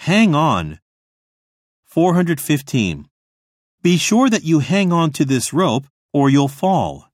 hang on. 415. Be sure that you hang on to this rope or you'll fall.